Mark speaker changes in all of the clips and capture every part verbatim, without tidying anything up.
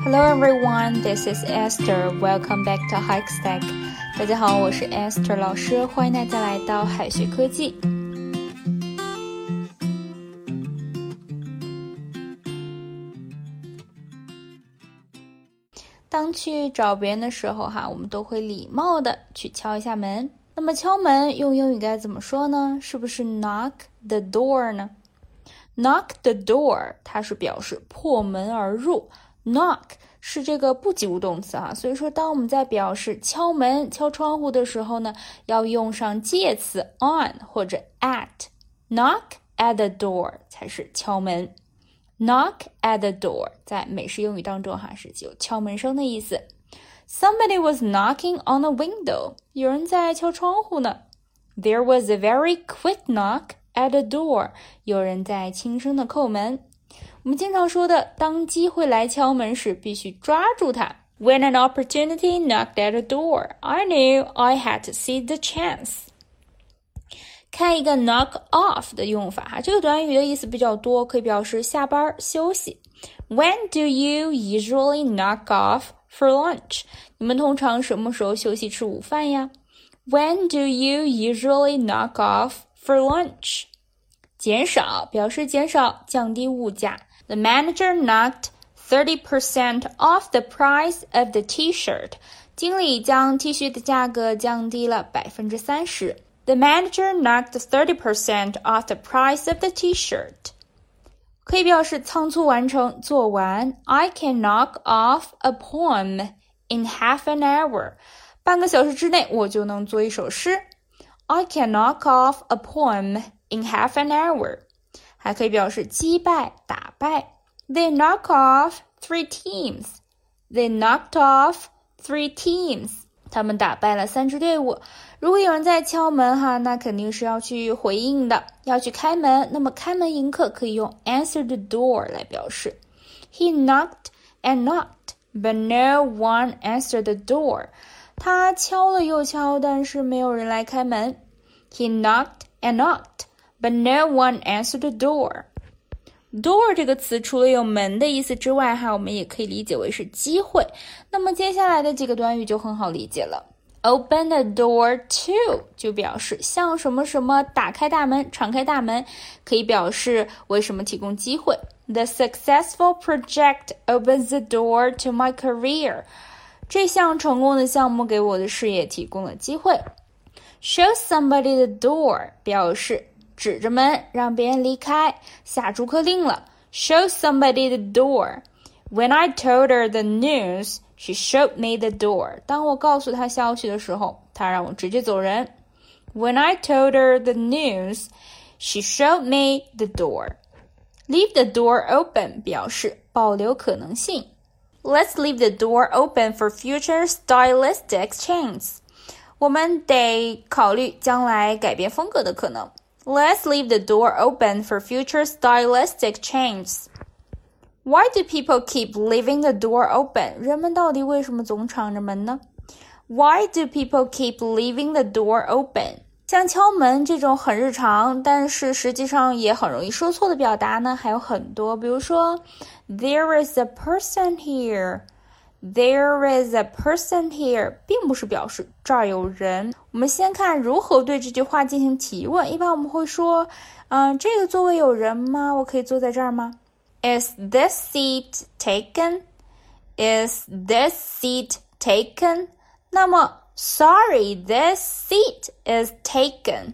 Speaker 1: Hello everyone, this is Esther. Welcome back to Hikestack. 大家好，我是 Esther 老师，欢迎大家来到海学科技。当去找别人的时候哈，我们都会礼貌的去敲一下门。那么敲门用英语该怎么说呢？是不是 knock the door 呢？ Knock the door 它是表示破门而入， knock 是这个不及物动词哈，所以说当我们在表示敲门敲窗户的时候呢，要用上介词 on 或者 at。 Knock at the door 才是敲门， Knock at the door 在美式英语当中哈是有敲门声的意思。 Somebody was knocking on a window 有人在敲窗户呢。 There was a very quick knock at the door 有人在轻声的叩门。我们经常说的当机会来敲门时必须抓住它。 When an opportunity knocked at the door, I knew I had to seize the chance。 看一个 knock off 的用法哈，这个短语的意思比较多，可以表示下班休息。 When do you usually knock off for lunch？ 你们通常什么时候休息吃午饭呀？ When do you usually knock off for lunch？ 减少表示减少降低物价。The manager knocked thirty percent off the price of the t-shirt. 经理将 T 恤的价格降低了 百分之三十。 The manager knocked thirty percent off the price of the t-shirt. 可以表示仓促完成做完。 I can knock off a poem in half an hour. 半个小时之内我就能做一首诗。 I can knock off a poem in half an hour. 还可以表示击败打败。 They knock off three teams. They knocked off three teams. 他们打败了三支队伍。如果有人在敲门哈，那肯定是要去回应的，要去开门。那么开门迎客可以用 answer the door 来表示。 He knocked and knocked, but no one answered the door. 他敲了又敲，但是没有人来开门。 He knocked and knocked,But no one answered the door. Door 这个词除了有门的意思之外哈，我们也可以理解为是机会。那么接下来的几个短语就很好理解了。Open the door to 就表示向什么什么打开大门敞开大门，可以表示为什么提供机会。 The successful project opens the door to my career. 这项成功的项目给我的事业提供了机会。Show somebody the door 表示指着门让别人离开，下逐客令了。 Show somebody the door. When I told her the news, she showed me the door. 当我告诉她消息的时候，她让我直接走人。 When I told her the news, she showed me the door. Leave the door open 表示保留可能性。 Let's leave the door open for future stylistic changes. 我们得考虑将来改变风格的可能。Let's leave the door open for future stylistic changes. Why do people keep leaving the door open? 人们到底为什么总敞着门呢？ Why do people keep leaving the door open? 像敲门这种很日常，但是实际上也很容易说错的表达呢，还有很多。比如说 There is a person here.There is a person here 并不是表示这儿有人。我们先看如何对这句话进行提问。一般我们会说嗯、呃，这个座位有人吗？我可以坐在这儿吗？ Is this seat taken? Is this seat taken? 那么 Sorry, this seat is taken.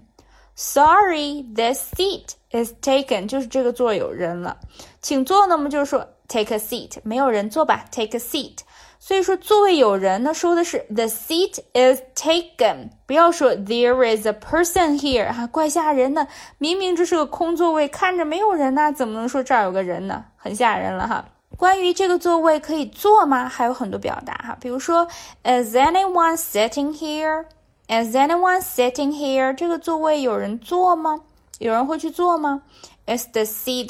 Speaker 1: Sorry, this seat is taken 就是这个座有人了。请坐呢，我们就是说Take a seat. 没有人坐吧 Take a seat. 所以说座位有人呢，说的是 The seat is taken. 不要说 There is a person here. 啊，怪吓人的。明明这是个空座位，看着没有人呢，怎么能说这儿有个人呢？很吓人了哈。关于这个座位可以坐吗？还有很多表达哈。比如说 Is anyone sitting here? Is anyone sitting here? 这个座位有人坐吗？有人会去坐吗？ Is the seat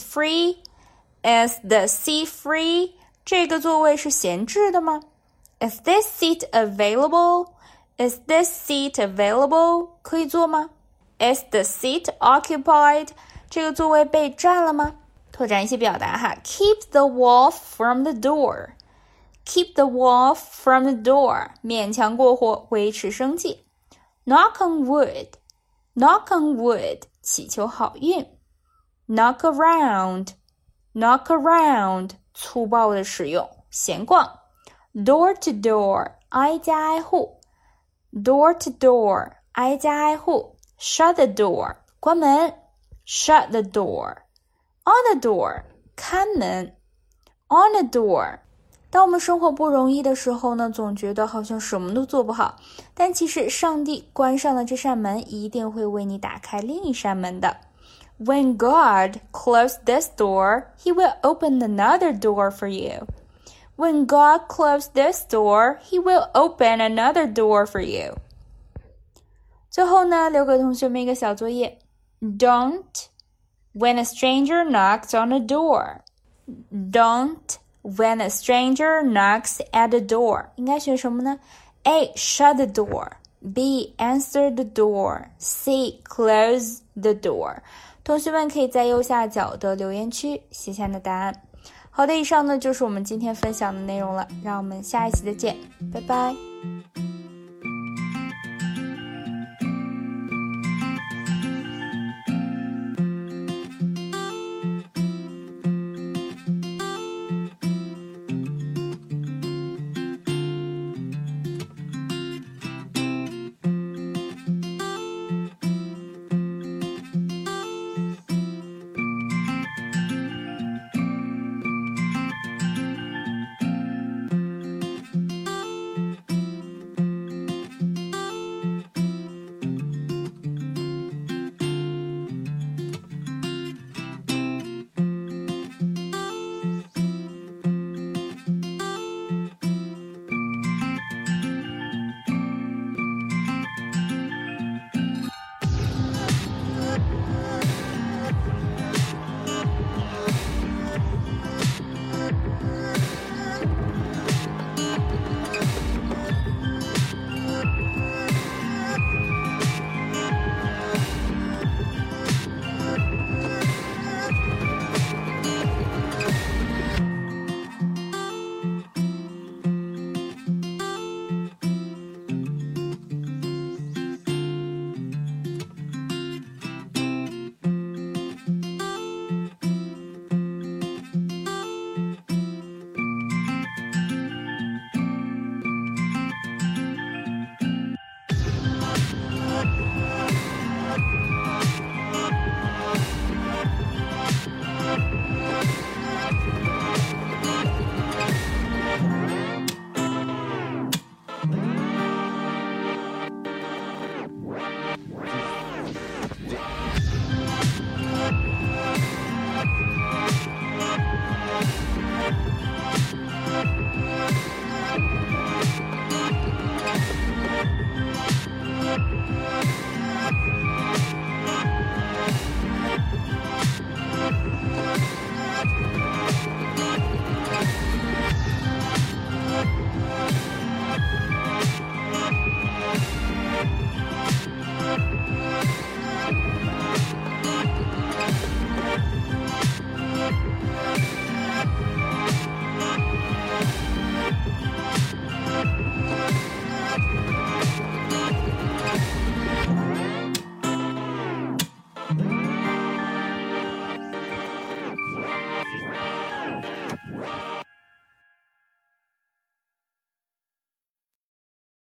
Speaker 1: free?Is the seat free? 这个座位是闲置的吗？ Is this seat available? Is this seat available? 可以坐吗？ Is the seat occupied? 这个座位被占了吗？拓展一些表达哈 Keep the wolf from the door. keep the wolf from the door 勉强过活，维持生计。Knock on wood knock on wood 祈求好运。Knock around knock around 粗暴的使用，闲逛。Door to door 挨家挨户。Door to door 挨家挨户。Shut the door 关门。Shut the door On the door 看门。On the door当我们生活不容易的时候呢，总觉得好像什么都做不好，但其实上帝关上了这扇门，一定会为你打开另一扇门的。When God closed this door, He will open another door for you. When God closed this door, He will open another door for you. 最后呢，留给同学们一个小作业。Don't when a stranger knocks on a door. Don't when a stranger knocks at the door. 应该学什么呢？ A. Shut the door. B. Answer the door. C. Close the door. 同学们可以在右下角的留言区写下你的答案。好的，以上呢就是我们今天分享的内容了，让我们下一期再见，拜拜。